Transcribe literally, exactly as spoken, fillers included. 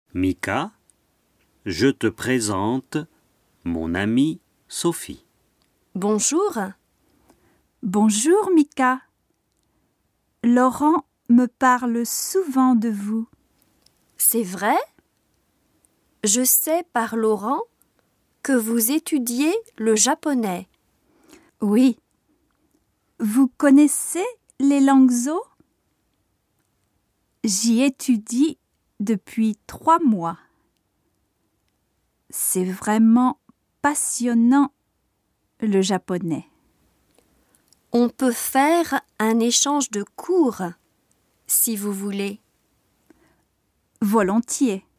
Mika, je te présente mon amie Sophie. Bonjour. Bonjour Mika. Laurent me parle souvent de vous. C'est vrai? Je sais par Laurent que vous étudiez le japonais. Oui. Vous connaissez les langues zo? J'y étudie depuis trois mois. C'est vraiment passionnant, le japonais. On peut faire un échange de cours, si vous voulez. Volontiers.